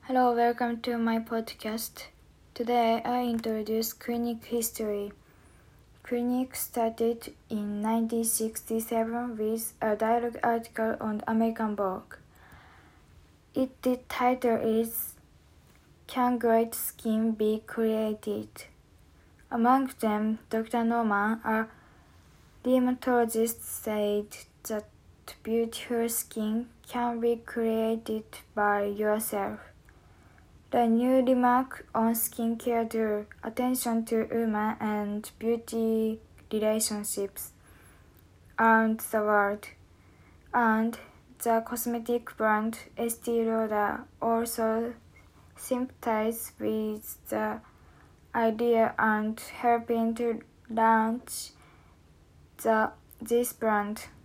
Hello, welcome to my podcast. Today I introduce Clinique history. Clinique started in 1967 with a dialogue article on American Vogue. Its title is Can Great Skin Be Created? Among them, Dr. Norman, a dermatologist, said that beautiful skin can be created by yourself. The new remark on skincare drew attention to women and beauty relationships around the world, and the cosmetic brand Estée Lauder also sympathized with the idea and helping to launch this brand.